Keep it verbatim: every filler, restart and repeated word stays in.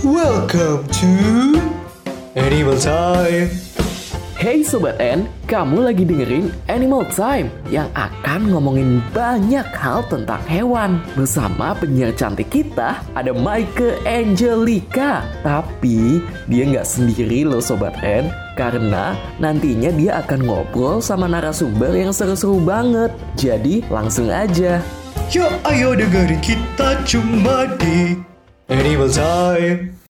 Welcome to Animal Time. Hey Sobat N, kamu lagi dengerin Animal Time yang akan ngomongin banyak hal tentang hewan. Bersama penyiar cantik kita, ada Maike Angelica. Tapi dia nggak sendiri loh Sobat N, karena nantinya dia akan ngobrol sama narasumber yang seru-seru banget. Jadi langsung aja. Yuk ayo dengerin kita cuma di Animal Time.